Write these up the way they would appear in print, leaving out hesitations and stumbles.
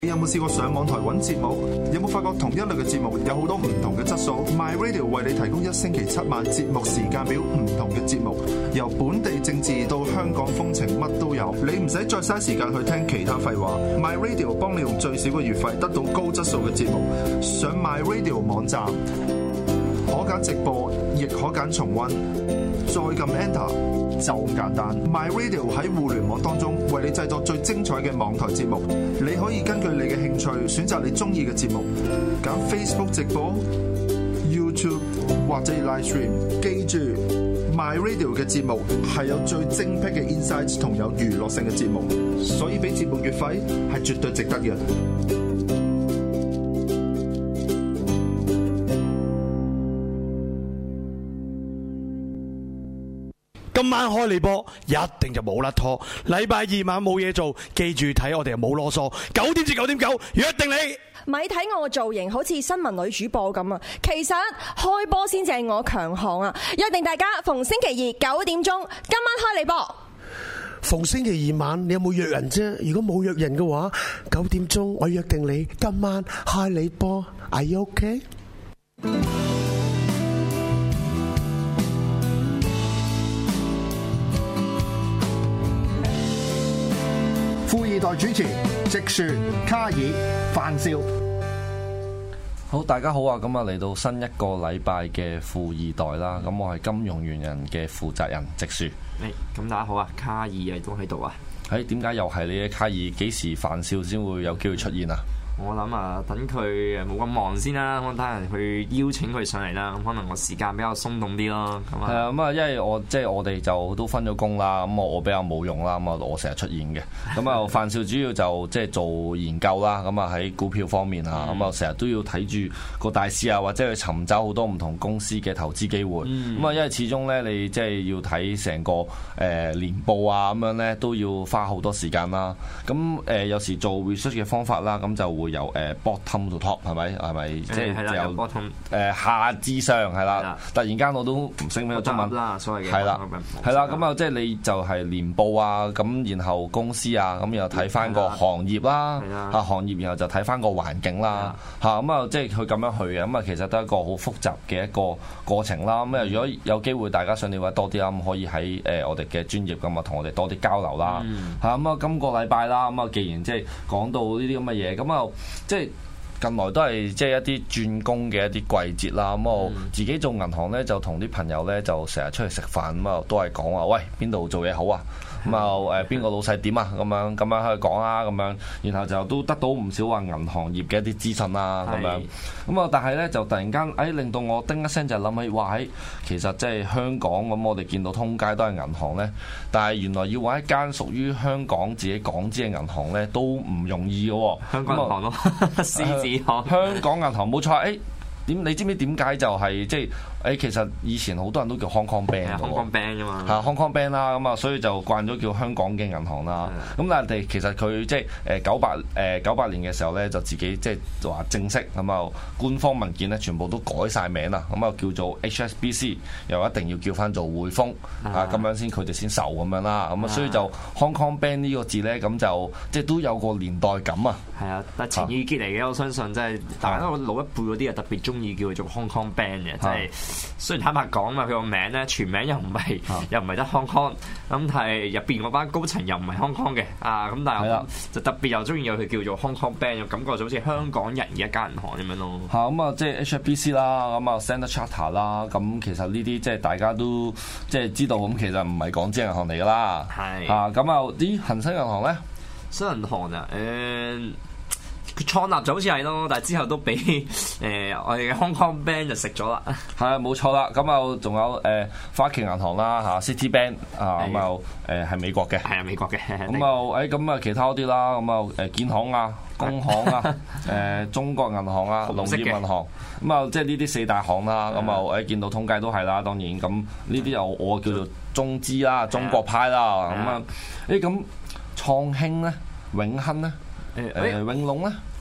你有冇試過上網台揾節目？有冇發覺同一類嘅節目有好多唔同嘅質素 ？My Radio 為你提供1星期7晚節目時間表，唔同嘅節目，由本地政治到香港風情，乜都有。你唔使再嘥時間去聽其他廢話。My Radio 幫你用最少嘅月費得到高質素嘅節目。上 My Radio 網站，可揀直播，亦可揀重溫，再撳 Enter。就咁簡單 ，My Radio 喺互聯網當中為你製作最精彩嘅網台節目。你可以根據你嘅興趣選擇你中意嘅節目，揀 Facebook 直播、YouTube 或者 Live Stream。記住 ，My Radio 嘅節目係有最精闢嘅 insights 同有娛樂性嘅節目，所以俾節目月費係絕對值得嘅。 今晚開你波，一定就冇甩拖。禮拜二晚冇嘢做，記住睇我哋冇囉嗦。9點至9點9，約定你。 咪睇我嘅造型好似新聞女主播咁啊！其實開波先至係我強項啊！約定大家逢星期二9點鐘，今晚開你波。 逢星期二晚你有冇約人啫？如果冇約人嘅話，9點鐘我約定你今晚開你波。Are you okay？ 富二代主持直樹、卡爾、范少。 好，大家好啊！咁啊嚟到新一個禮拜嘅富二代啦，咁我係金融猿人嘅負責人直樹。 咁大家好啊，卡爾亦都喺度啊。 點解又係你嘅卡爾？幾時范少先會有機會出現啊？ 我諗啊，等佢冇咁忙先啦，我睇人去邀請佢上嚟啦。咁可能我時間比較鬆動啲咯。咁啊， 係啊，咁啊，因為我哋就都分咗工啦。咁我比較冇用啦。咁啊，我成日出現嘅。咁啊，范少主要就做研究啦。咁啊，喺股票方面啊，咁啊，成日都要睇住個大市啊，或者去尋找好多唔同公司嘅投資機會。咁啊，因為始終咧，你要睇成個年報啊，咁樣咧都要花好多時間啦。咁有時做 research 嘅方法啦，咁就會由bottom to top 係咪？即係由 bottom 下至上係啦。突然間我都唔識咩中文啦，所謂嘅係啦，咁啊，即係你就係年報啊，咁然後公司啊，咁又睇翻個行業啦，行業然後就睇翻個環境啦，咁啊，即係佢咁樣去嘅，咁啊，其實都係一個好複雜嘅一個過程啦。咁啊，如果有機會大家想了解多啲啦，咁可以喺我哋嘅專業咁啊，同我哋多啲交流啦。咁啊，今個禮拜啦，咁啊，既然即係講到呢啲咁嘅嘢，咁啊，即係近來都係一啲轉工嘅一啲季節啦。咁我自己做銀行咧，就同啲朋友咧就成日出去食飯，咁啊都係講話，喂，邊度做嘢好啊？咁啊邊個老細點啊？咁樣去講啊，咁樣，然後就都得到唔少話銀行業嘅一啲資訊啦，咁樣。咁啊，但係咧就突然間令到我叮一聲就諗起，哇！其實即係香港咁，我哋見到通街都係銀行咧，但係原來要揾一間屬於香港自己港資嘅銀行咧，都唔容易嘅喎。 香港銀行咯，獅子行。 香港銀行冇錯，你知唔知點解就係其實以前好多人都叫 Hong Kong Bank 嘅喎 ，Hong Kong Bank 啫嘛 ，Hong Kong Bank 啦，咁啊，所以就慣咗叫香港嘅銀行啦。咁但係其實佢98年嘅時候咧，就自己話正式咁啊，官方文件咧全部都改晒名啦，咁啊叫做 HSBC， 又一定要叫翻做匯豐啊，咁樣佢哋先受咁樣啦。咁啊，所以就 Hong Kong Bank 呢個字咧，咁就都有個年代感啊。 係啊，但係情意結嚟嘅，我相信大家老一輩嗰啲啊特別中意叫佢做 Hong Kong Bank 嘅，雖然坦白講嘛，佢個名咧全名又唔係得 Hong Kong，咁但係入邊嗰班高層又唔係 Hong Kong 嘅咁但係就特別又中意有佢叫做 Hong Kong Bank，感覺就好似香港人嘅一間銀行咁樣咯。咁啊， 即係 HSBC 啦，咁啊 Standard Chartered 啦，咁其實呢啲即係大家都知道，咁其實唔係港資銀行嚟㗎啦。係咁啊，啲恒生銀行咧， 新銀行啊，佢創立就好似係咯，但係之後都俾我哋嘅 Hong Kong Bank 就食咗啦。係啊， 冇錯啦。咁啊，仲有花旗銀行啦，City Bank 咁啊係美國嘅。 係啊，美國嘅。 咁啊其他嗰啲啦，咁啊建行啊、工行啊、中國銀行啊、農業銀行，咁啊即係呢啲四大行啦。咁啊見到通街都係啦，當然咁呢啲又我叫做中資啦、中國派啦。咁啊咁創興咧、永亨咧。永隆咧，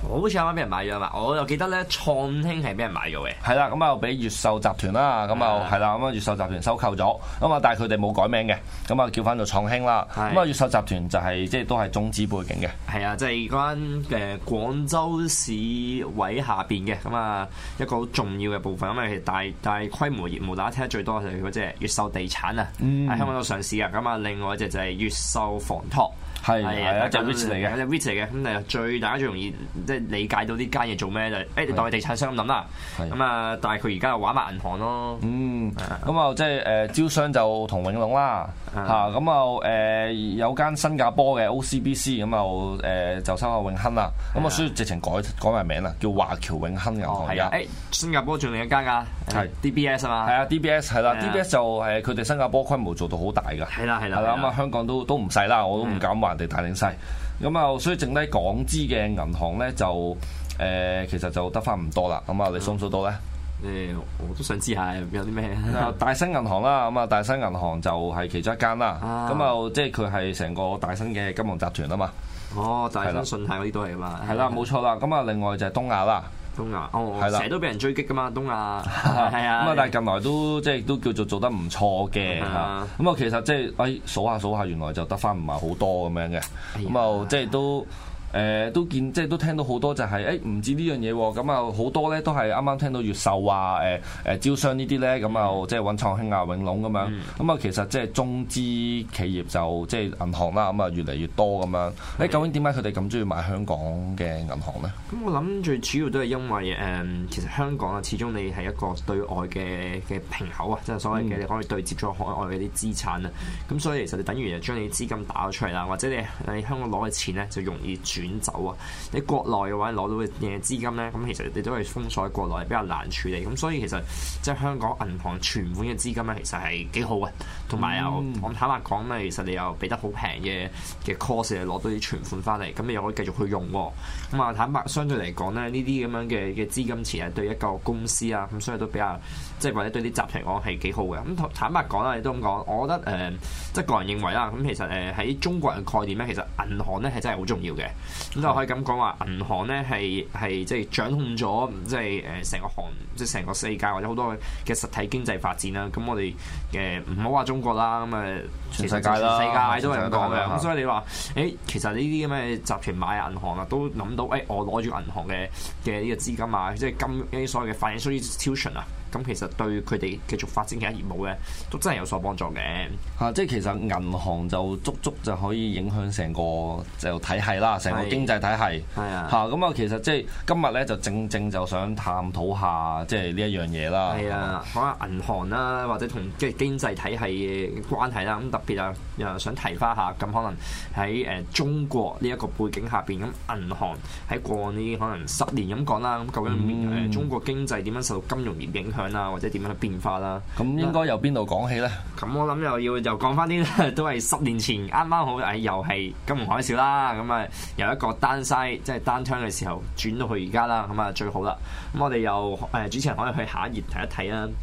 好似啱啱俾人買咗嘛，我又記得咧創興係俾人買咗嘅。 係啦，咁啊俾越秀集團啦，咁啊係啦，咁啊越秀集團收購咗，咁啊但係佢哋冇改名嘅，咁啊叫翻做創興啦。咁啊越秀集團就係即係都係中資背景嘅。 係啊，即係嗰間廣州市委下邊嘅，咁啊一個好重要嘅部分，咁啊大規模業務，大家聽得最多就係嗰隻越秀地產啊，喺香港度上市啊。咁啊另外一隻就係越秀房託。係啊，一隻 REIT 嚟嘅，一隻 REIT 嚟嘅。咁誒最大家最容易即係理解到呢間嘢做咩就係你當係地產商咁諗啦。咁啊，但係佢而家又玩埋銀行咯。咁啊即係招商就同永隆啦嚇。咁啊有間新加坡嘅 OCBC 咁啊就收下永亨啦。咁啊所以直情改埋名啦，叫華僑永亨銀行而家。新加坡仲另一間㗎，係 DBS 啊嘛。係啊 DBS 係啦 ，DBS 就佢哋新加坡規模做到好大㗎。係啦。咁啊香港都唔細啦，我都唔敢話人哋大定細。咁啊所以剩低港資嘅銀行咧就其實就得翻唔多啦。咁啊你數唔數到咧？我都想知下有啲咩。大新銀行啦，咁啊大新銀行就係其中一間啦。咁啊即係佢係成個大新嘅金融集團啊嘛。大新信貸嗰啲都係嘛。係啦，冇錯啦。咁啊另外就係東亞啦。東亞成日都俾人追擊噶嘛，東亞係啊。咁啊但係近來都即係都叫做得唔錯嘅嚇。咁啊其實即係數下原來就得翻唔係好多咁樣嘅。咁啊即係都見即係都聽到好多就係唔止呢樣嘢喎。咁啊好多咧都係啱啱聽到越秀啊招商呢啲咧，咁啊即係揾創興啊永隆咁樣。咁啊其實即係中資企業就即係銀行啦，咁啊越嚟越多咁樣。究竟點解佢哋咁中意買香港嘅銀行咧？咁我諗最主要都係因為其實香港啊，始終你係一個對外嘅平口啊，即係所謂嘅你可以對接咗海外嘅啲資產啊。咁所以其實你等於就將你資金打咗出嚟啦，或者你香港攞嘅錢咧就容易轉走啊！你國內嘅話攞到嘅資金咧，咁其實你都係封鎖喺國內，比較難處理。咁所以其實即係香港銀行存款嘅資金咧，其實係幾好嘅。同埋又我坦白講咧，其實你又俾得好平嘅 cost 嚟攞到啲存款翻嚟，咁你又可以繼續去用喎。咁啊坦白相對嚟講咧，呢啲咁樣嘅資金池係對一個公司啊，咁所以都比較即係或者對啲集團嚟講係幾好嘅。咁坦白講啦，你都咁講，我覺得即係個人認為啦，咁其實喺中國人概念咧，其實銀行咧係真係好重要嘅。咁就可以咁講話，銀行咧係即係掌控咗即係成個即係成個世界或者好多嘅實體經濟發展啦。咁我哋唔好話中國啦，咁全世界啦，世界都係咁講嘅。咁所以你話其實呢啲咁嘅集團買銀行啊，都諗到我攞住銀行嘅呢個資金啊，即係呢啲所謂嘅 financial institution啊。咁其實對佢哋繼續發展其他業務咧，都真係有所幫助嘅。即係其實銀行就足就可以影響成個就體系啦，成個經濟體系。係啊。咁啊，其實即係今日咧就正就想探討下即係呢一樣嘢啦。係啊，講下銀行啦，或者同即係經濟體系嘅關係啦。咁特別啊，又想提翻下，咁可能喺中國呢一個背景下邊，咁銀行喺過往呢可能10年咁講啦，咁究竟中國經濟點樣受到金融業影響？或者點樣去變化啦？咁應該由邊度講起咧？咁我諗又講翻啲都係10年前啱啱好又係金融海嘯啦。咁啊由一個 downside 即係 downturn 嘅時候轉到去而家啦。咁啊最好啦。咁我哋又主持人可以去下一頁睇一睇啦。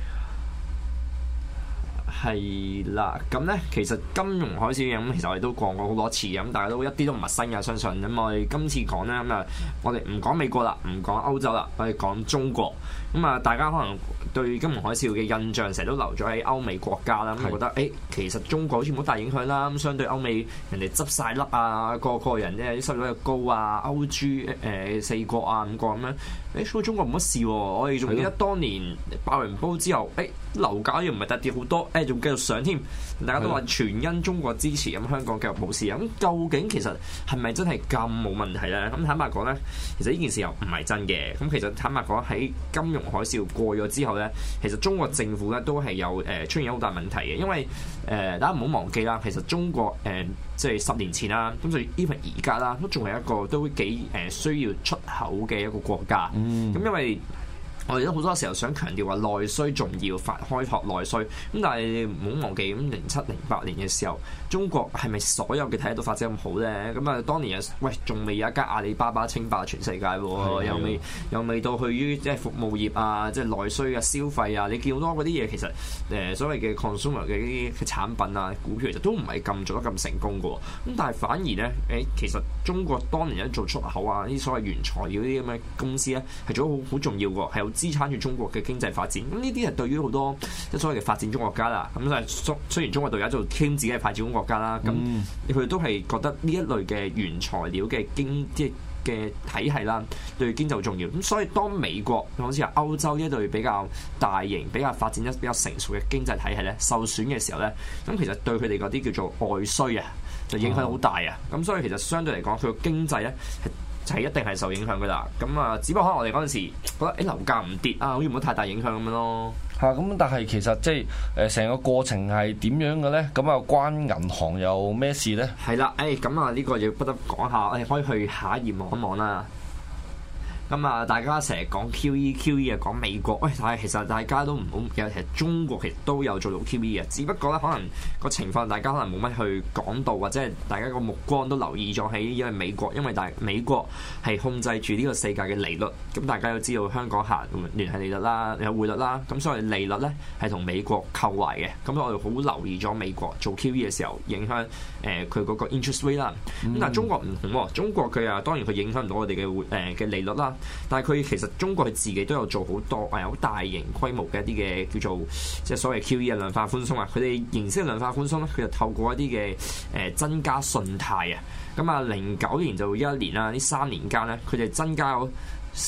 係啦，咁咧其實金融海嘯咁，其實我哋都講過好多次，咁大家都一啲都唔陌生嘅，相信咁我哋今次講咧咁啊，我哋唔講美國啦，唔講歐洲啦，我哋講中國。咁啊，大家可能對金融海嘯嘅印象成日都留咗喺歐美國家啦，咁覺得其實中國好似冇大影響啦。咁相對歐美人哋執晒笠啊，個人咧啲收入又高啊，歐豬4國啊5國咁樣，所以中國冇乜事喎。我哋仲記得當年爆完煲之後，樓價又唔係特跌好多，仲繼續上添。大家都話全因中國支持，咁香港繼續冇事。咁究竟其實係咪真係咁冇問題咧？咁坦白講咧，其實呢件事又唔係真嘅。咁其實坦白講喺金融海嘯過咗之後咧，其實中國政府咧都係有出現好大問題嘅。因為大家唔好忘記啦，其實中國即係10年前啦，咁就 even 而家啦，都仲係一個都幾需要出口嘅一個國家。咁因為我哋都好多時候想強調話內需重要，開拓內需。咁但係你唔好忘記，咁07、08年嘅時候，中國係咪所有嘅體系都發展咁好咧？咁啊，當年仲未有一間阿里巴巴稱霸全世界喎，又未到去於即係服務業啊，即係內需啊、消費啊。你見好多嗰啲嘢，其實所謂嘅 consumer 嘅啲產品啊、股票其實都唔係咁做得咁成功嘅喎。咁但係反而咧，其實中國當年一做出口啊，啲所謂原材料啲咁嘅公司咧，係做得好重要嘅，係有支撐住中國嘅經濟發展。咁呢啲係對於好多即係所謂嘅發展中國家啦。咁就係雖然中國到而家做傾自己係發展中國家啦，咁佢哋都係覺得呢一類嘅原材料嘅即係嘅體系啦，對經濟好重要。咁所以當美國好似係歐洲呢一類比較大型、比較發展得比較成熟嘅經濟體系咧受損嘅時候咧，咁其實對佢哋嗰啲叫做外需啊，就影響好大啊。咁所以其實相對嚟講，佢個經濟咧係一定係受影響噶啦。咁啊，只不過可能我哋嗰陣時覺得樓價唔跌啊，好似冇太大影響咁樣咯。 咁但係其實即係成個過程係點樣嘅咧？咁啊，關銀行有咩事咧？係啦， 咁啊呢個要不得講下，可以去下一頁望一望啦。咁啊，大家成日講 QE 啊，講美國，但係其實大家都唔好記得，其實中國其實都有做到 QE 嘅，只不過咧可能個情況大家可能冇乜去講到，或者係大家個目光都留意咗喺因為美國，美國係控制住呢個世界嘅利率，咁大家都知道香港行聯繫利率啦，有匯率啦，咁所以利率咧係同美國扣壞嘅，咁我哋好留意咗美國做 QE 嘅時候影響佢嗰個 interest rate 啦，咁但係中國唔同喎，中國佢啊當然佢影響唔到我哋嘅利率啦。但係佢其實中國佢自己都有做好多好大型規模嘅一啲嘅叫做即係所謂 QE 嘅量化寬鬆啊，佢哋形式嘅量化寬鬆咧，佢就透過一啲嘅增加信貸啊，咁啊09年就11年啦，呢3年間咧，佢哋增加咗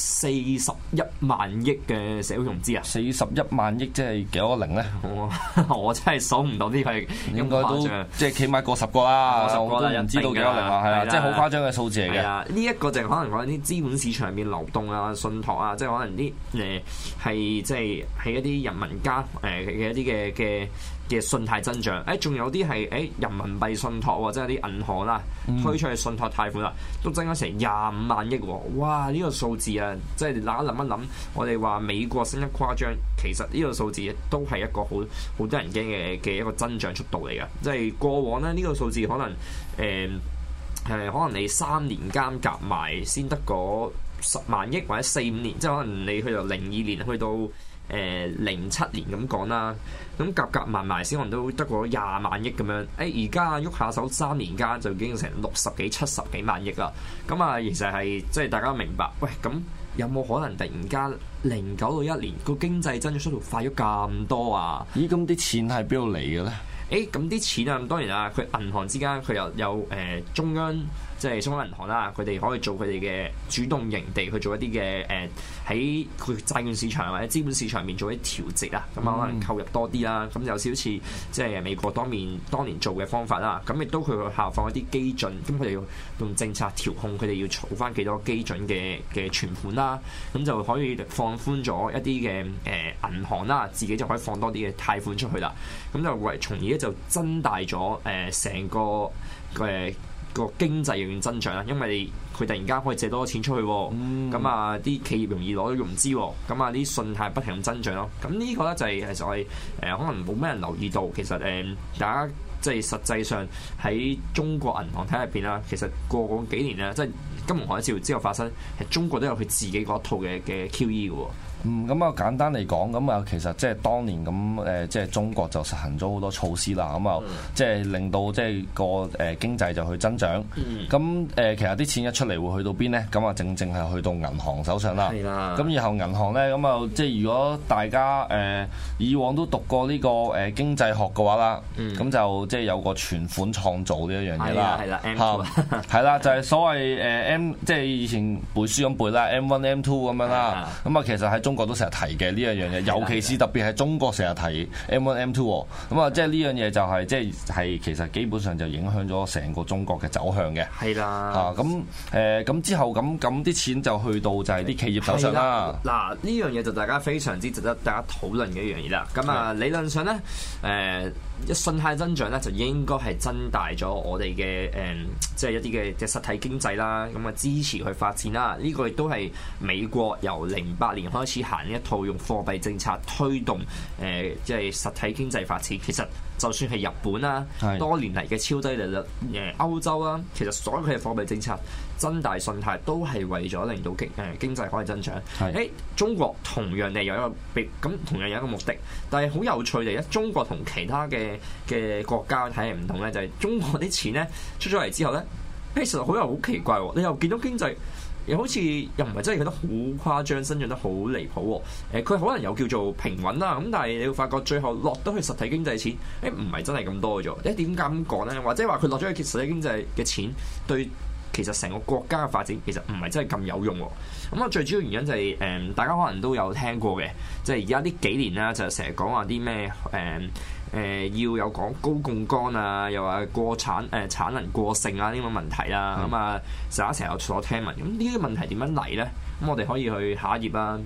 41萬億嘅社會融資啊！41 萬億即係幾多個零咧？ 我真係數唔到啲係應該都即係起碼過10個啦，我都唔知道幾多零啊，係啦，即係好誇張嘅數字嚟嘅。 呢一個就可能講啲資本市場入面流動啊、信託啊，即係可能啲係即係喺一啲人民家嘅一啲嘅信貸增長，仲有啲係人民幣信託喎，即係啲銀行啦推出去信託貸款啦，都增加成25萬億喎！哇！呢個數字啊，即係大家諗一諗，我哋話美國升得誇張，其實呢個數字都係一個好多人驚嘅一個增長速度嚟㗎。即係過往咧，呢個數字可能可能你3年間夾埋先得嗰10萬億，或者4、5年，即係可能你去到02年去到07年咁講啦，咁夾埋先可能都得個20萬億咁樣。而家喐下手3年間就已經成60幾、70幾萬億啦。咁啊，其實係即係大家明白，咁有冇可能突然間09到1年個經濟增長速度快咗咁多啊？ 咦，咁啲錢係邊度嚟嘅咧？ 咁啲錢啊，當然啊，佢銀行之間佢又有中央，即係中央銀行啦，佢哋可以做佢哋嘅主動型地去做一啲嘅喺佢債券市場或者資本市場面做一啲調節啊，咁可能購入多啲啦，咁有少少似即係美國當年做嘅方法啦，咁亦都佢去效仿一啲基準，咁佢哋用政策調控佢哋要儲翻幾多基準嘅存款啦，咁就可以放寬咗一啲嘅銀行啦，自己就可以放多啲嘅貸款出去啦，咁就從而就增大咗成個個經濟嘅增長啦，因為佢突然間可以借多錢出去，咁啊啲企業容易攞到融資，咁啊啲信貸不停咁增長咯。咁呢個咧就係其實我哋可能冇咩人留意到，其實大家即係實際上喺中國銀行體入邊啦，其實過往幾年咧，即係金融海嘯之後發生，係中國都有佢自己嗰套嘅 QE 嘅喎。 咁啊簡單嚟講，咁啊其實即係當年咁即係中國就實行咗好多措施啦，咁啊即係令到即係個經濟就去增長。咁其實啲錢一出嚟會去到邊咧？咁啊正係去到銀行手上啦。咁然後銀行咧，咁啊即係如果大家以往都讀過呢個經濟學嘅話啦，咁就即係有個存款創造呢一樣嘢啦。係啦，就係所謂M， 即係以前背書咁背啦 ，M1、M2 咁樣啦。咁啊其實喺中國都成日提嘅呢一樣嘢，尤其是特別係中國成日提 M1、M2，咁啊，即係呢樣嘢就係即係其實基本上就影響咗成個中國嘅走向嘅。係啦，咁之後咁啲錢就去到就係啲企業手上啦。 嗱，呢樣嘢就大家非常之值得大家討論嘅一樣嘢啦。咁啊，理論上咧， 信貸增長咧就應該係增大咗我哋嘅即係一啲嘅實體經濟啦，咁啊支持佢發展啦。呢個亦都係美國由08年開始行一套用貨幣政策推動即係實體經濟發展。其實就算係日本啦，多年嚟嘅超低利率歐洲啦，其實所有佢嘅貨幣政策增大信貸都係為咗令到經濟可以增長。中國同樣地有一個同樣有一個目的，但係好有趣地咧，中國同其他嘅國家睇嚟唔同咧，就係中國啲錢咧出咗嚟之後咧，其實好奇怪喎，你又見到經濟又好似又唔係真係覺得好誇張，增長得好離譜喎。佢可能有叫做平穩啦，咁但係你會發覺最後落得去實體經濟嘅錢，唔係真係咁多嘅啫。點解咁講咧？或者話佢落咗去實體經濟嘅錢對其實成個國家嘅發展其實唔係真係咁有用喎。咁啊，最主要原因就係大家可能都有聽過嘅，即係而家呢幾年啦，就成日講話啲咩要有講高槓桿啊，又話產能過剩啊呢個問題啦。咁啊，成日有所聽聞。咁呢啲問題點樣嚟咧？咁我哋可以去下一頁啦。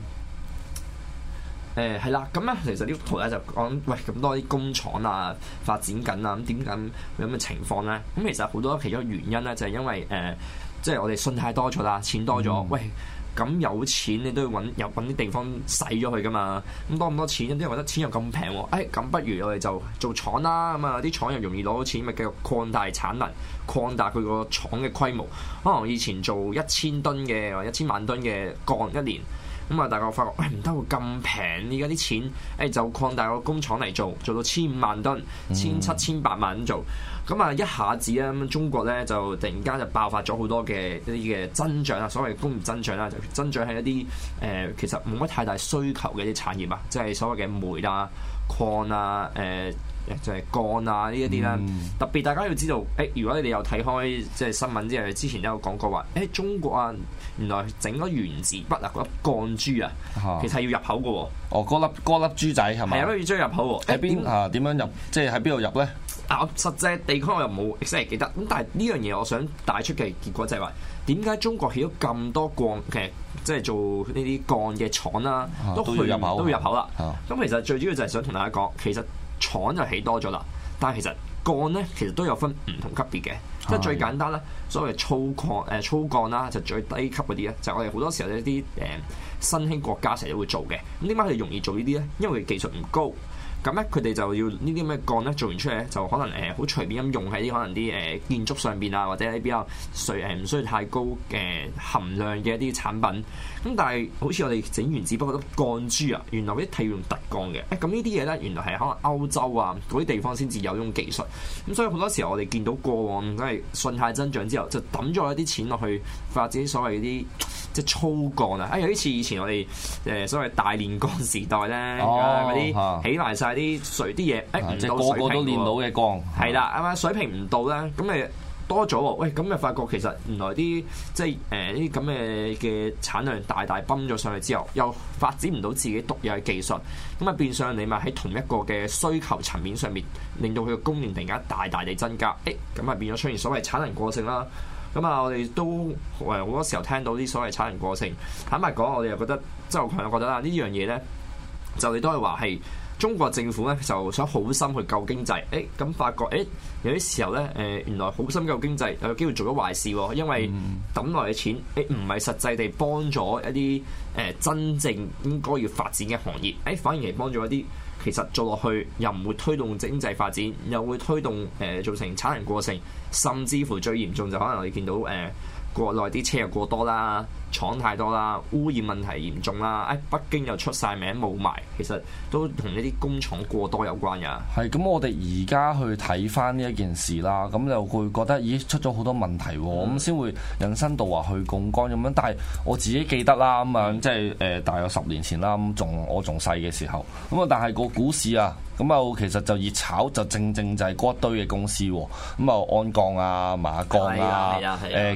係啦，咁咧其實呢幅圖咧就講喂咁多啲工廠啊發展緊啊，咁點解有咁嘅情況咧？咁其實好多其中原因咧就係因為即係我哋信貸多咗啦，錢多咗，喂。咁有錢你都要揾啲地方使咗佢噶嘛？咁多咁多錢，啲人覺得錢又咁平喎，咁不如我哋就做廠啦。咁啊啲廠又容易攞到錢，咪繼續擴大產能，擴大佢個廠嘅規模。可能以前做1000噸嘅或1000萬噸嘅鋼一年，咁啊大家發覺唔得喎，咁平，而家啲錢就擴大個工廠嚟做到1500萬噸、1700萬咁做。咁啊，一下子咧，咁中國咧就突然間就爆發咗好多嘅一啲嘅增長啊，所謂工業增長啦，就增長係一啲其實冇乜太大需求嘅一啲產業啊，即係所謂嘅煤啊、礦啊、就係鋼啊呢一啲啦。特別大家要知道，如果你哋有睇開即係新聞之前都有講過話，中國啊原來整咗原子筆啊嗰粒鋼珠啊，其實係要入口嘅喎。 哦，嗰粒珠仔係咪？ 係啊，要將入口喎。 喺邊啊？點樣入？即係喺邊度入咧？ 實際地區我又冇 exactly 記得，咁但係呢樣嘢我想帶出嘅結果就係話，點解中國起咗咁多鋼嘅，即係做呢啲鋼嘅廠啦，都要入口啦。咁其實最主要就係想同大家講，其實廠就起多咗啦，但係其實鋼咧其實都有分唔同級別嘅，即係最簡單啦，所謂粗鋼啦，就最低級嗰啲咧，就係我哋好多時候一啲新興國家成日都會做嘅。咁點解佢哋容易做呢啲咧？因為技術唔高。咁咧，佢哋就要呢啲咩鋼咧，做完出嚟咧，就可能好隨便咁用喺啲可能啲建築上邊啊，或者啲比較唔需要太高含量嘅一啲產品。咁但係好似我哋整原子筆嗰啲鋼珠啊，原來嗰啲係要用特鋼嘅。咁呢啲嘢咧，原來係可能歐洲啊嗰啲地方先至有呢種技術。咁所以好多時候我哋見到過往即係信貸增長之後，就抌咗一啲錢落去發展所謂啲即係粗鋼啊。有啲似以前我哋所謂大煉鋼時代咧，嗰啲起埋晒啲水啲嘢， 即係個個都練到嘅鋼， 係啦，啱啱水平唔到咧，咁咪多咗喎。喂，咁咪發覺其實原來啲即係呢啲咁嘅產量大崩咗上去之後，又發展唔到自己獨有嘅技術，咁啊變相你咪喺同一個嘅需求層面上面，令到佢嘅供應突然間大地增加，咁啊變咗出現所謂產能過剩啦。咁啊，我哋都好多時候聽到啲所謂產能過剩，坦白講，我哋又覺得即係我覺得啦，呢樣嘢咧，就你都係話係。中國政府咧就想好心去救經濟，咁發覺有啲時候咧原來好心救經濟有機會做咗壞事喎，因為抌落嘅錢唔係實際地幫咗一啲真正應該要發展嘅行業，反而係幫咗一啲其實做落去又唔會推動經濟發展，又會推動造成產能過剩，甚至乎最嚴重就可能我哋見到國內啲車又過多啦，廠太多啦，污染問題嚴重啦，北京又出晒名霧霾，其實都同呢啲工廠過多有關㗎。係咁，我哋而家去睇翻呢一件事啦，咁就會覺得咦出咗好多問題喎，咁先會引申到話去槓桿咁樣。但係我自己記得啦，咁樣即係大約10年前啦，咁我仲細嘅時候，咁啊但係個股市啊。咁啊，其實就熱炒就正就係嗰一堆嘅公司喎，咁啊，鞍鋼啊、馬鋼啊、建材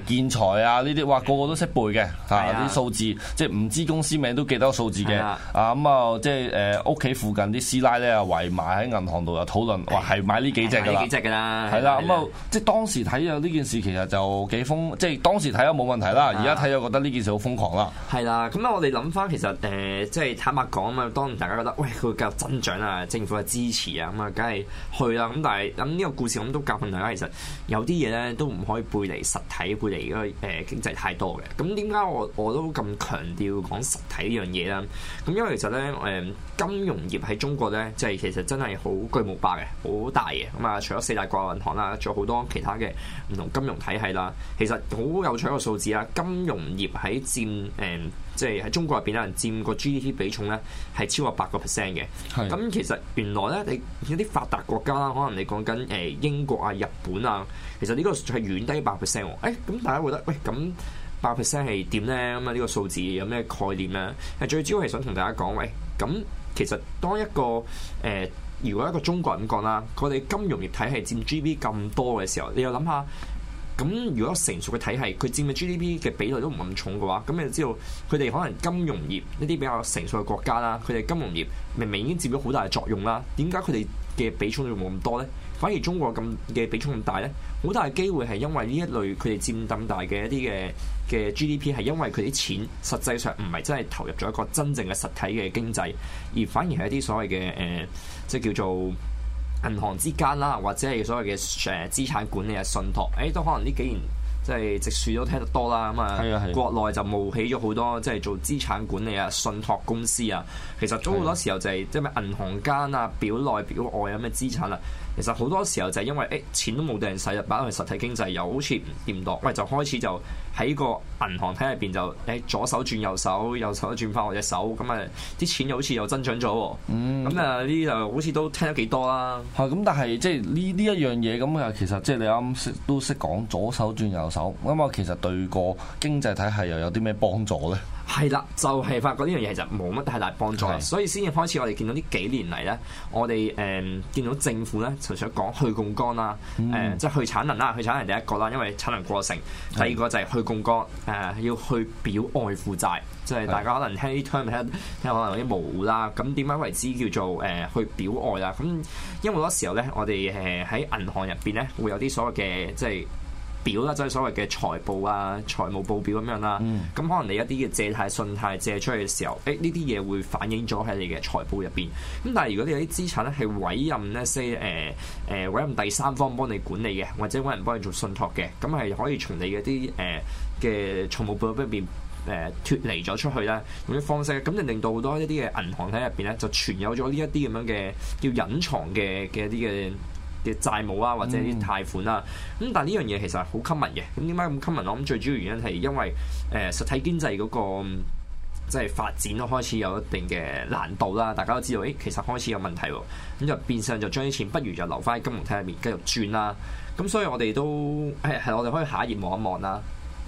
台啊呢啲，哇個個都識背嘅啲數字，即係唔知公司名都記得個數字嘅。咁啊，即係屋企附近啲師奶咧啊圍埋喺銀行度又討論，哇係買呢幾隻㗎啦， 呢幾隻㗎啦。係啦，咁啊即係當時睇有呢件事其實就幾瘋，即係當時睇咗冇問題啦。而家睇咗覺得呢件事好瘋狂啦。 係啦，咁我哋諗翻其實即係坦白講啊嘛，當然大家覺得喂佢會繼續增長啊，政府嘅支持啊，咁啊梗係去啦。咁但係咁呢個故事咁都教訓大家，其實有啲嘢咧都唔可以背離實體，背離嗰個經濟太多嘅。咁點解我都咁強調講實體呢樣嘢啦？咁因為其實咧金融業喺中國咧，即係其實真係好巨無霸嘅，好大嘅。咁啊，除咗四大國有銀行啦，仲有好多其他嘅唔同金融體系啦。其實好有趣一個數字啦，金融業喺佔即係喺中國入邊咧，佔個 GDP 比重咧係超過8%嘅。咁其實原來咧，你有啲發達國家啦，可能你講緊英國啊、日本啊，其實呢個係遠低8%喎。咁大家會覺得喂咁8% 係點咧？咁啊呢個數字有咩概念咧？係最主要係想同大家講，喂咁其實當一個如果一個中國人咁講啦，佢哋金融業體系佔 GDP 咁多嘅時候，你又諗下。咁如果成熟嘅體系，佢佔嘅 GDP 嘅比例都唔咁重嘅話，咁你就知道佢哋可能金融業一啲比較成熟嘅國家啦，佢哋金融業明明已經佔咗好大嘅作用啦，點解佢哋嘅比重仲冇咁多咧？反而中國咁嘅比重咁大咧，好大嘅機會係因為呢一類佢哋佔咁大嘅一啲嘅 GDP 係因為佢啲錢實際上唔係真係投入咗一個真正嘅實體嘅經濟，而反而係一啲所謂嘅即係叫做銀行之間啦，或者係所謂嘅資產管理啊、信託，都可能呢幾年即係直樹都聽得多啦。咁啊，國內就冒起咗好多即係做資產管理啊、信託公司啊。其實都好多時候就係即係咩銀行間啊、表內表外有咩資產啊。其實好多時候就係因為錢都冇地人使，擺落去實體經濟又好似唔掂當，喂就開始就喺個銀行體入邊就左手轉右手，右手轉翻我隻手，咁啊啲錢又好似又增長咗喎。咁啊呢啲就好似都聽得幾多啦。 咁但係即係呢一樣嘢咁啊，其實即係你啱都識講左手轉右手，咁啊其實對個經濟體系又有啲咩幫助咧？ 係啦，就係發覺呢樣嘢其實冇乜太大幫助，所以先至開始我哋見到呢幾年嚟咧，我哋見到政府咧，除咗講去槓桿啦，即係去產能啦，去產能第一個啦，因為產能過剩；第二個就係去槓桿，要去表外負債，即係大家可能聽啲 term 聽可能有啲模糊啦。咁點解為之叫做去表外啦？咁因為好多時候咧，我哋喺銀行入邊咧會有啲所謂嘅即係表啦，即係所謂嘅財報啊、財務報表咁樣啦。咁可能你一啲嘅借貸、信貸借出去嘅時候，呢啲嘢會反映咗喺你嘅財報入邊。咁但係如果你有啲資產咧係委任咧，委任第三方幫你管理嘅，或者揾人幫你做信託嘅，咁係可以從你嘅啲嘅財務報表入邊脫離咗出去啦，用啲方式，咁就令到好多一啲嘅銀行喺入邊咧就存有咗呢一啲咁樣嘅叫隱藏嘅一啲嘅債務啊，或者啲貸款啊，咁但係呢樣嘢其實係好 common 嘅。咁點解咁 common？我諗最主要原因係因為實體經濟嗰個即係發展都開始有一定嘅難度啦。大家都知道，其實開始有問題喎，咁就變相就將啲錢不如就留翻喺金融體入面繼續轉啦。咁所以我哋都我哋可以下一頁望一望啦。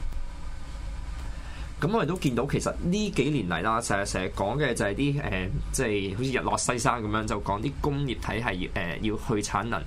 咁我哋都見到其實呢幾年嚟啦，成日講嘅就係啲即係好似日落西山咁樣，就講啲工業體系要去產能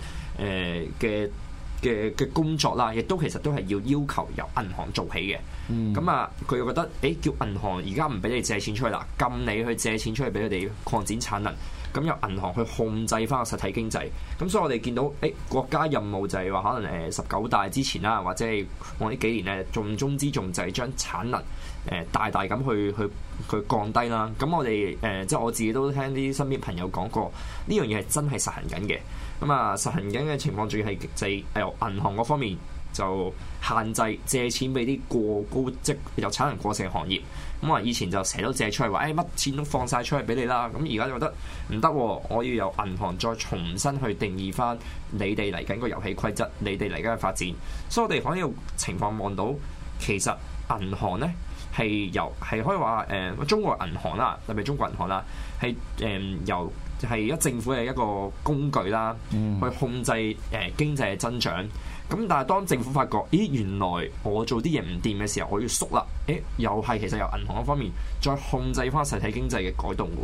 嘅工作啦，亦都其實都係要求由銀行做起嘅。咁佢又覺得叫銀行而家唔俾你借錢出去啦，禁你去借錢出去俾佢哋擴展產能。咁由銀行去控制翻個實體經濟，咁所以我哋見到國家任務就係話可能19大之前啦，或者係我呢幾年咧重中之重就係將產能大大咁去降低啦。咁我哋即係我自己都聽啲身邊朋友講過，呢樣嘢係真係實行緊嘅。咁啊實行緊嘅情況，仲要係就係由銀行嗰方面就限制借錢俾啲過高即有產能過剩嘅行業。咁以前就成日都借出去話，乜錢都放晒出去俾你啦。咁而家就覺得唔得，我要由銀行再重新去定義翻你哋嚟緊個遊戲規則，你哋嚟緊嘅發展。所以我哋可以有情況望到，其實銀行咧係可以話中國銀行啦，特別中國銀行啦，係由係而家政府嘅一個工具啦，去控制經濟嘅增長。咁但係當政府發覺，原來我做啲嘢唔掂嘅時候，我要縮啦。又係其實由銀行嗰方面再控制翻實體經濟嘅改動嘅喎。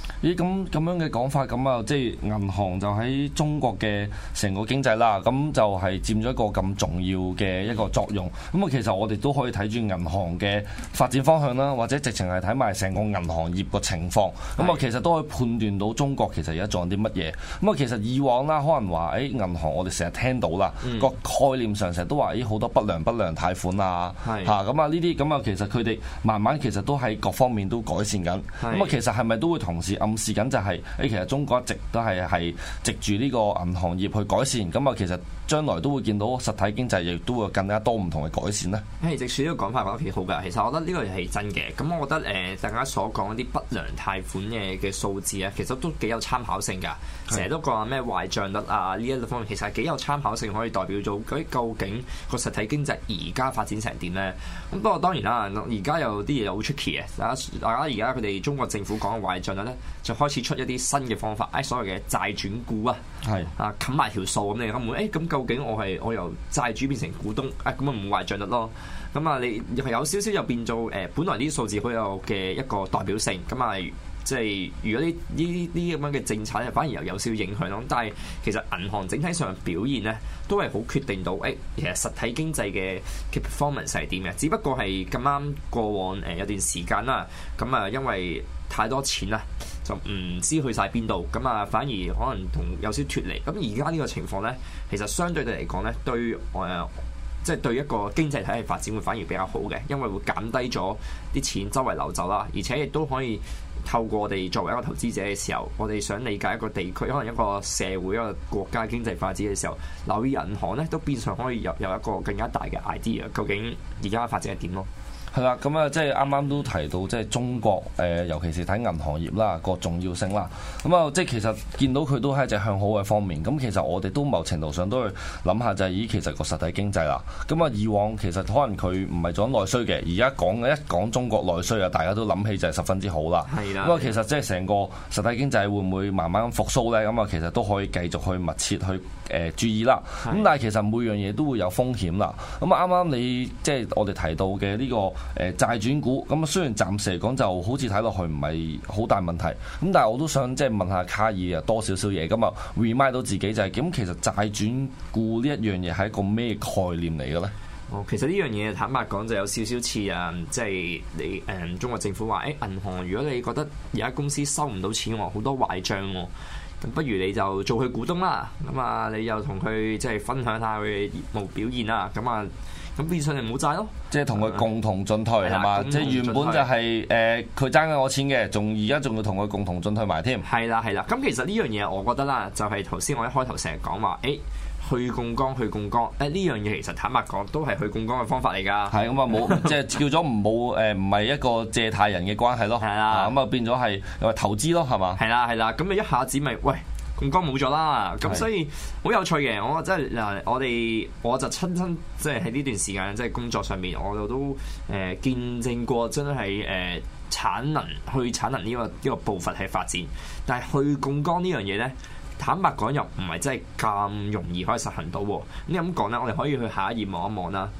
咦，咁樣嘅講法，咁啊，即係銀行就喺中國嘅成個經濟啦，咁就係佔咗一個咁重要嘅一個作用。咁啊，其實我哋都可以睇住銀行嘅發展方向啦，或者直情係睇埋成個銀行業個情況。咁啊，其實都可以判斷到中國其實而家做緊啲乜嘢。咁啊，其實以往啦，可能話誒銀行我哋成日聽到啦，個概念上成日都話好多不良貸款啊，嚇咁啊呢啲咁啊，其實佢哋慢慢其實都喺各方面都改善緊。咁啊，其實係咪都會同時暗示緊就係其實中國一直都係藉住呢個銀行業去改善，咁啊其實將來都會見到實體經濟亦都會更加多唔同嘅改善咧。直樹呢個講法講得幾好㗎，其實我覺得呢個係真嘅。咁我覺得大家所講啲不良貸款嘅數字啊，其實都幾有參考性㗎。成日都講話咩壞帳率啊，呢一方面其實係幾有參考性，可以代表咗究竟個實體經濟而家發展成點咧？咁不過當然啦，而家有啲嘢好 tricky 嘅。大家而家佢哋中國政府講嘅壞帳率咧，就開始出一啲新嘅方法，所謂嘅債轉股啊，冚埋條數咁你根本咁究竟我由債主變成股東咁啊唔壞帳率咯。咁啊你係有少少又變做本來呢啲數字好有嘅一個代表性咁啊。即係如果呢咁樣嘅政策咧，反而又有少少影響咯。但係其實銀行整體上嘅表現咧，都係好決定到其實實體經濟嘅 performance 係點嘅。只不過係咁啱過往有段時間啦，咁啊因為太多錢啦，就唔知去晒邊度，咁啊反而可能同有少少脫離。咁而家呢個情況咧，其實相對地嚟講咧，對即係對一個經濟體系發展會反而比較好嘅，因為會減低咗啲錢周圍流走啦，而且亦都可以透過我哋作為一個投資者嘅時候，我哋想理解一個地區，可能一個社會、一個國家經濟發展嘅時候，留意銀行咧，都變相可以有一個更加大嘅 idea， 究竟而家發展係點咯？ 係啦，咁啊，即係啱啱都提到，即係中國尤其是睇銀行業啦個重要性啦。咁啊，即係其實見到佢都係一隻向好嘅方面。咁其實我哋都某程度上都去諗下，就係其實個實體經濟啦。咁啊，以往其實可能佢唔係做緊內需嘅，而家一講中國內需啊，大家都諗起就係十分之好啦。係啦。咁啊，其實即係成個實體經濟會唔會慢慢復甦咧？咁啊，其實都可以繼續去密切去注意啦。咁但係其實每樣嘢都會有風險啦。咁啊，啱啱你即係我哋提到嘅呢個債轉股，咁啊雖然暫時嚟講就好似睇落去唔係好大問題，咁但係我都想即係問下卡爾啊多少少嘢，咁啊 remind 到自己就係咁，其實債轉股呢一樣嘢係一個咩概念嚟嘅咧？ 其實呢樣嘢坦白講就有少少似即係你中國政府話銀行，如果你覺得而家公司收唔到錢喎，好多壞帳喎，咁不如你就做佢股東啦，咁啊你又同佢即係分享下佢嘅業務表現啦，咁變相就冇債咯，即係同佢共同進退係嘛？即係原本就係佢爭緊我錢嘅，而家仲要同佢共同進退埋添。 係啦。咁其實呢樣嘢我覺得啦，就係頭先我一開頭成日講話，去槓桿呢樣嘢其實坦白講都係去槓桿嘅方法嚟㗎。係咁啊，冇即係叫咗唔係一個借貸人嘅關係咯。係啦，咁啊變咗係投資咯，係嘛？係啦，咁你一下子咪喂。槓桿冇咗啦，咁所以好有趣嘅。我真係嗱，我就親身即係喺呢段時間即係工作上面，我都見證過真係產能呢個步伐係發展。但係去槓桿呢樣嘢咧，坦白講又唔係真係咁容易可以實行到。咁咁講咧，我哋可以去下一頁望一望啦。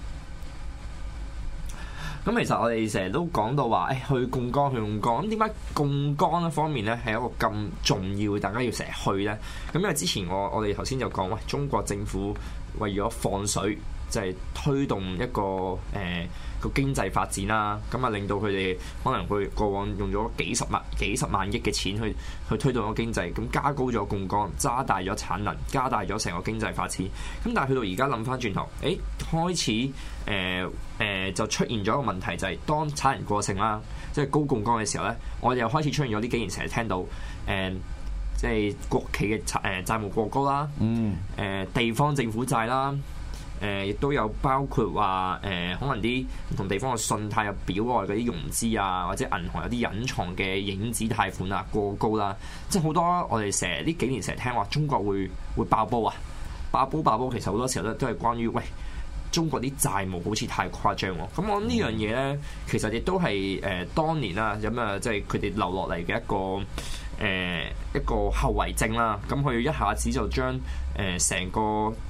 咁其實我哋成日都講到話，去槓桿，咁點解槓桿一方面咧係一個咁重要，大家要成日去咧？咁因為之前我哋頭先就講，喂，中國政府為咗放水，就係推動一個個經濟發展啦，咁啊令到佢哋可能佢過往用咗幾十萬億嘅錢去推動個經濟，咁加高咗槓桿，加大咗產能，加大咗成個經濟發展。咁但係去到而家諗翻轉頭，開始就出現咗一個問題，就係當產能過剩啦，即係高槓桿嘅時候咧，我哋又開始出現咗呢幾年成日聽到即係國企嘅債務過高啦，地方政府債啦。亦都有包括話可能啲唔同地方嘅信貸有表外嗰啲融資啊，或者銀行有啲隱藏嘅影子貸款啊過高啦，即係好多我哋成日呢幾年成日聽話中國會爆煲啊，爆煲其實好多時候都係關於喂中國啲債務好似太誇張喎。咁我諗呢樣嘢咧，其實亦都係當年啦，咁啊即係佢哋留落嚟嘅一個後遺症啦。咁佢一下子就將成個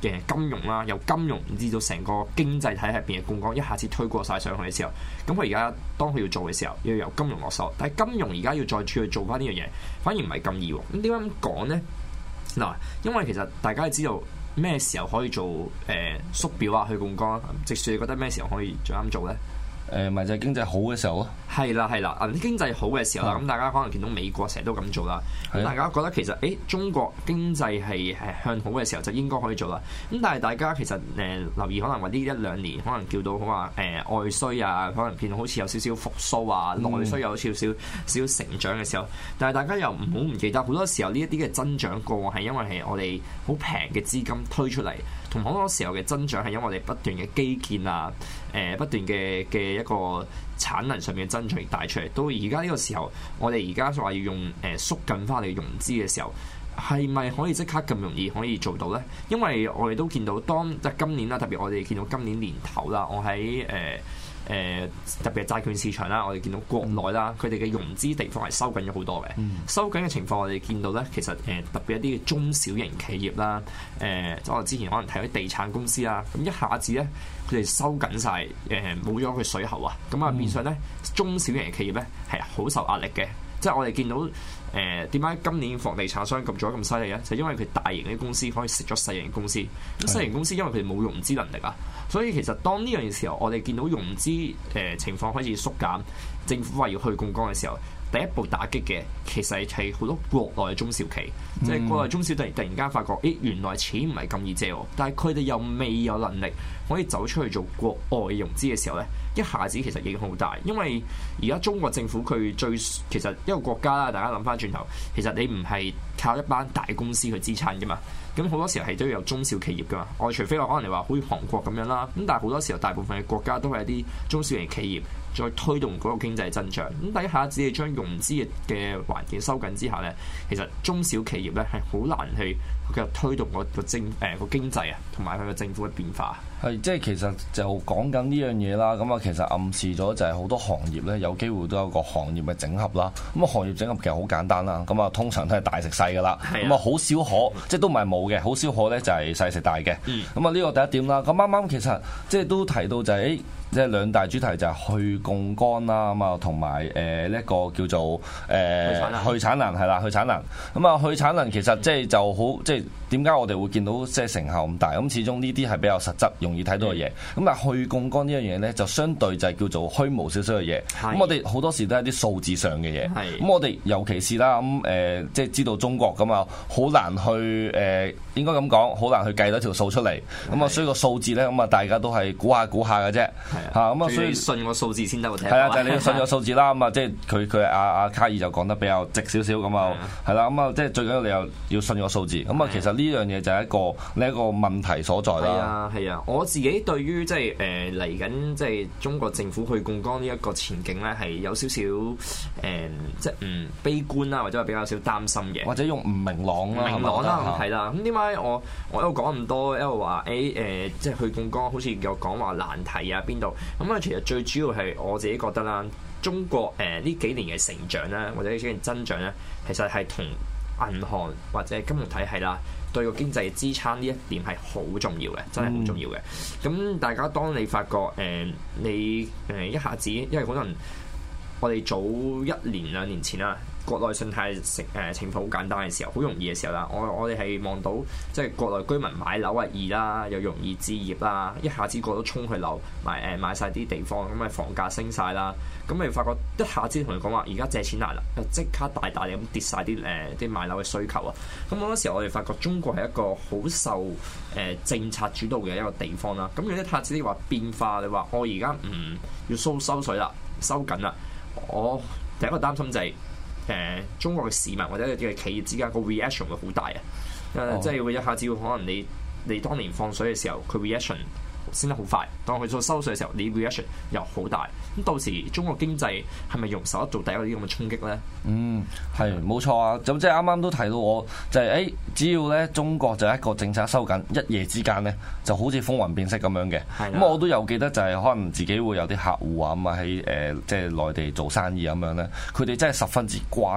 嘅金融啦，由金融至到成個經濟體系入邊嘅槓桿一下子推過晒上去嘅時候，咁佢而家當佢要做嘅時候，要由金融落手，但係金融而家要再去做翻呢樣嘢，反而唔係咁易喎。咁點解咁講咧？嗱，因為其實大家知道咩時候可以做縮表啊、去槓桿啊，直樹你覺得咩時候可以最啱做咧？ 咪就係經濟好嘅時候咯。 係啦，經濟好嘅時候啦，咁大家可能見到美國成日都咁做啦，咁大家覺得其實中國經濟係向好嘅時候就應該可以做啦。咁但係大家其實留意可能話呢1-2年可能叫到好話外需啊，可能見到好似有少少復甦啊，內需有少少成長嘅時候，但係大家又唔好唔記得好多時候呢一啲嘅增長過往係因為係我哋好平嘅資金推出嚟，同好多時候嘅增長係因為我哋不斷嘅基建啊，不斷嘅一個產能上面嘅增長而帶出嚟。到而家呢個時候，我哋而家話要用縮緊翻嚟融資嘅時候，係咪可以即刻咁容易可以做到咧？因為我哋都見到即係今年啦，特別我哋見到今年年頭啦，我喺特別係債券市場啦，我哋見到國內啦，佢哋嘅融資地方係收緊咗好多嘅。收緊嘅情況，我哋見到咧，其實特別一啲嘅中小型企業啦，即我之前可能睇啲地產公司啦，咁一下子咧，佢哋收緊晒，冇咗佢水喉啊，咁啊變相咧，中小型企業咧係好受壓力嘅。即係我哋見到點解今年房地產商咁做得咁犀利咧？就因為佢大型嘅公司可以食咗細型公司，咁細型公司因為佢哋冇融資能力啊，所以其實當呢樣嘅時候，我哋見到融資情況開始縮減，政府話要去槓桿嘅時候，第一步打擊嘅其實係好多國內嘅中小企，即係國內中小突然間發覺，原來錢唔係咁易借喎，但係佢哋又未有能力可以走出去做國外融資嘅時候咧，一下子其實影響好大，因為而家中國政府佢其實一個國家啦，大家諗翻轉頭，其實你唔係靠一班大公司去支撐噶嘛，咁好多時候係都要有中小企業噶嘛，我除非話可能你話好似韓國咁樣啦，咁但係好多時候大部分嘅國家都係一啲中小型企業再推動嗰個經濟增長，咁第一下子你將融資嘅環境收緊之下咧，其實中小企業咧係好難去繼續推動個經濟啊，同埋佢個政府嘅變化。 係，即係其實就講緊呢樣嘢啦。咁啊，其實暗示咗就係好多行業咧，有機會都有個行業嘅整合啦。咁啊，行業整合其實好簡單啦。咁啊，通常都係大食細噶啦。咁啊，好少可，即係都唔係冇嘅，好少可咧就係細食大嘅。咁啊，呢個第一點啦。咁啱啱其實即係都提到就係即係兩大主題就係去槓桿啦，咁啊同埋呢一個叫做去產能係啦，去產能。咁啊，去產能其實即係就好，即係點解我哋會見到即係成效咁大？咁始終呢啲係比較實質，容易睇到嘅嘢。咁啊，去槓桿呢樣嘢咧，就相對就係叫做虛無少少嘅嘢。咁我哋好多時都係啲數字上嘅嘢。咁我哋尤其是啦，咁即係知道中國咁啊，好難去應該咁講，好難去計到條數出嚟。咁啊，所以個數字咧，咁啊，大家都係估下嘅啫。咁啊，所以信個數字先得喎。 係啊，就係你要信個數字啦。咁啊，即係佢阿卡爾就講得比較直少少咁啊，係啦。咁啊，即係最緊要你又要信個數字。咁啊，其實呢樣嘢就係一個問題所在啦。 係啊，我自己對於即係嚟緊即係中國政府去槓桿呢一個前景咧，係有少少即係唔悲觀啦，或者係比較少擔心嘅， 或者用唔明朗啦， 係啦。咁點解我一路講咁多，一路話即係去槓桿，好似有講話難題啊邊度？咁啊，其實最主要係我自己覺得啦，中國呢幾年嘅成長啦，或者呢幾年增長咧，其實係同銀行或者金融體系啦，對個經濟支撐呢一點係好重要嘅，真係好重要嘅。咁大家當你發覺你一下子，因為可能我哋早1-2年前啦，國內信貸情況好簡單嘅時候，好容易嘅時候啦，我哋係望到即係國內居民買樓係易啦，又容易置業啦，一下子個都衝去樓買曬啲地方，咁咪房價升晒啦，咁你發覺一下子同你講話，而家借錢難啦，又即刻大咁跌晒啲買樓嘅需求啊！咁好多時候我哋發覺中國係一個好受政策主導嘅一個地方啦。咁如果一下子你話變化，你話我而家唔要收水啦，收緊啦，我第一個擔心就係中國嘅市民或者嘅企業之間個 reaction 會好大啊！即係會一下子會可能你當年放水嘅時候，佢 reaction 升得好快，當佢做收水嘅時候，你 reaction 又好大。咁到時中國經濟係咪容受得做第一個啲咁嘅衝擊咧？ 係冇錯啊！咁即係啱啱都提到我就係只要咧中國就一個政策收緊，一夜之間咧就好似風雲變色咁樣嘅。咁我都有記得就係可能自己會有啲客戶啊咁啊喺即係內地做生意咁樣咧，佢哋真係十分之關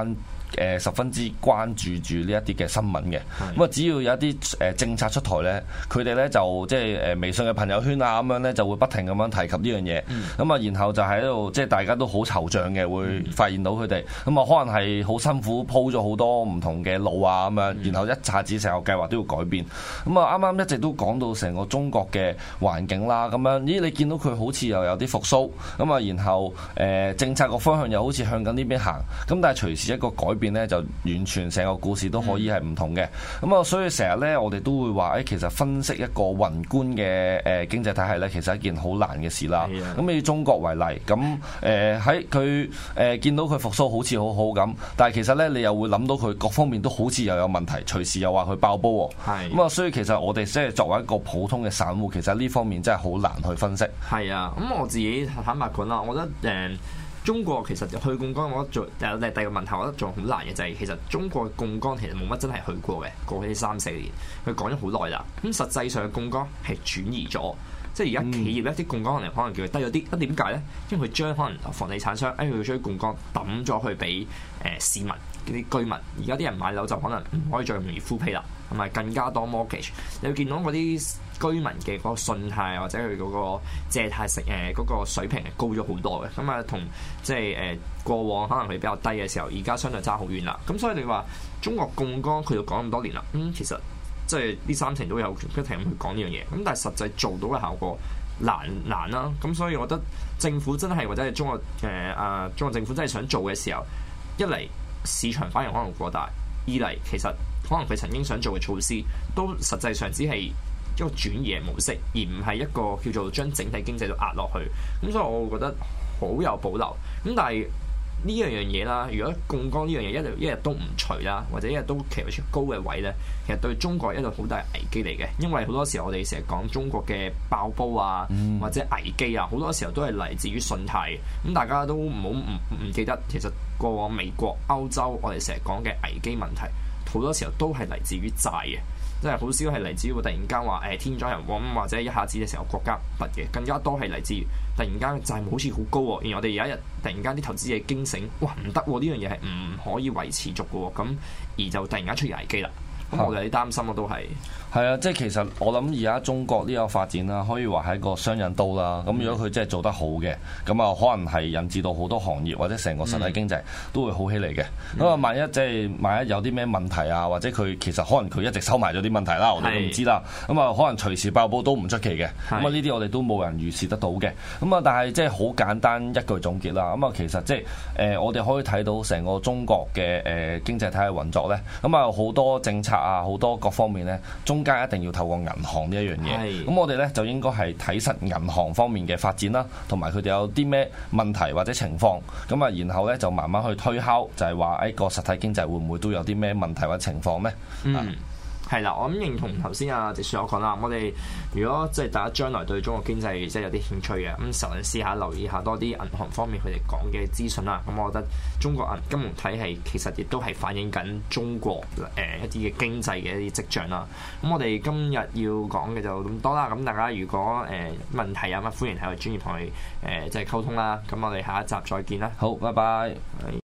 十分之關注住呢一啲嘅新聞嘅。咁啊，只要有一啲政策出台咧，佢哋咧就即係微信嘅朋友圈啊咁樣咧，就會不停咁樣提及呢樣嘢。咁啊，然後就喺度即係大家都好惆悵嘅，會發現到佢哋咁啊，可能係好辛苦鋪咗好多唔同嘅路啊咁樣，然後一下子成個計劃都要改變。咁啊，啱啱一直都講到成個中國嘅環境啦，咁樣咦，你見到佢好似又有啲復甦，咁啊，然後政策個方向又好似向緊呢邊行，咁但係隨時一個改變咧，就完全成個故事都可以係唔同嘅。咁啊，所以成日咧，我哋都會話其實分析一個宏觀嘅經濟體系咧，其實係一件好難嘅事啦。咁以中國為例，咁喺佢見到佢復甦好似好好咁，但係其實咧，你又會諗到佢各方面都好似又有問題，隨時又話佢爆煲喎。咁啊，所以其實我哋即係作為一個普通嘅散戶，其實呢方面真係好難去分析。 係啊，咁我自己坦白講啦，我覺得中國其實去槓桿，我覺得有第二個問題，我覺得仲好難嘅就係其實中國嘅槓桿其實冇乜真係去過嘅，過去呢3-4年，佢講咗好耐啦。咁實際上嘅槓桿係轉移咗，即係而家企業咧啲槓桿可能叫佢低咗啲。咁點解咧？因為佢將可能房地產商佢將槓桿抌咗去俾市民啲居民，而家啲人買樓就可能唔可以再容易 full pay 啦，同埋更加多 mortgage。你會見到嗰啲居民嘅嗰個信貸或者佢嗰個借貸嗰個水平係高咗好多嘅，咁啊同即係過往可能佢比較低嘅時候，而家相對爭好遠啦。咁所以你話中國槓桿佢就講咁多年啦，其實即係呢3成都有不停咁去講呢樣嘢，咁但係實際做到嘅效果難啦。咁所以我覺得政府真係或者係中國政府真係想做嘅時候，一嚟市場反應可能過大，二嚟其實可能佢曾經想做嘅措施都實際上只係一個轉移嘅模式，而唔係一個叫做將整體經濟都壓落去。咁所以我會覺得好有保留。咁但係呢樣嘢啦，如果槓桿呢樣嘢一日都唔除啦，或者一日都企喺高嘅位咧，其實對中國係一個好大危機嚟嘅。因為好多時候我哋成日講中國嘅爆煲啊，或者危機啊，好多時候都係嚟自於信貸。咁大家都唔好唔記得，其實過往美國、歐洲我哋成日講嘅危機問題，好多時候都係嚟自於債嘅。即係好少係嚟自於突然間話天災人禍或者一下子嘅時候國家不嘅，更加多係嚟自突然間債務好似好高喎，而我哋有一日突然間啲投資者驚醒，哇唔得喎，呢樣嘢係唔可以維持續嘅喎，咁而就突然間出現危機啦。咁我哋有啲擔心咯，都係。 係啊，即係其實我諗而家中國呢個發展啦，可以話係一個雙刃刀啦。咁如果佢真係做得好嘅，咁啊可能係引致到好多行業或者成個實體經濟都會好起嚟嘅。咁啊，萬一有啲咩問題啊，或者佢其實可能佢一直收埋咗啲問題啦，我哋都唔知啦。咁啊，可能隨時爆煲都唔出奇嘅。咁啊，呢啲我哋都冇人預示得到嘅。咁啊，但係即係好簡單一句總結啦。咁啊，其實即係我哋可以睇到成個中國嘅經濟體系運作咧。咁啊，好多政策啊，好多各方面咧，中間一定要透過銀行呢一樣嘢，咁我哋咧就應該係睇實銀行方面嘅發展啦，同埋佢哋有啲咩問題或者情況，咁啊，然後咧就慢慢去推敲，就係話個實體經濟會唔會都有啲咩問題或者情況咧？ 係啦，我咁認同頭先直樹所講啦。我哋如果即係大家將來對中國經濟即係有啲興趣嘅，咁嘗試下留意下多啲銀行方面佢哋講嘅資訊啦。咁我覺得中國金融體系其實亦都係反映緊中國一啲嘅經濟嘅一啲跡象啦。咁我哋今日要講嘅就咁多啦。咁大家如果問題有乜，歡迎喺我專業同佢即係溝通啦。咁我哋下一集再見啦。 好，拜拜。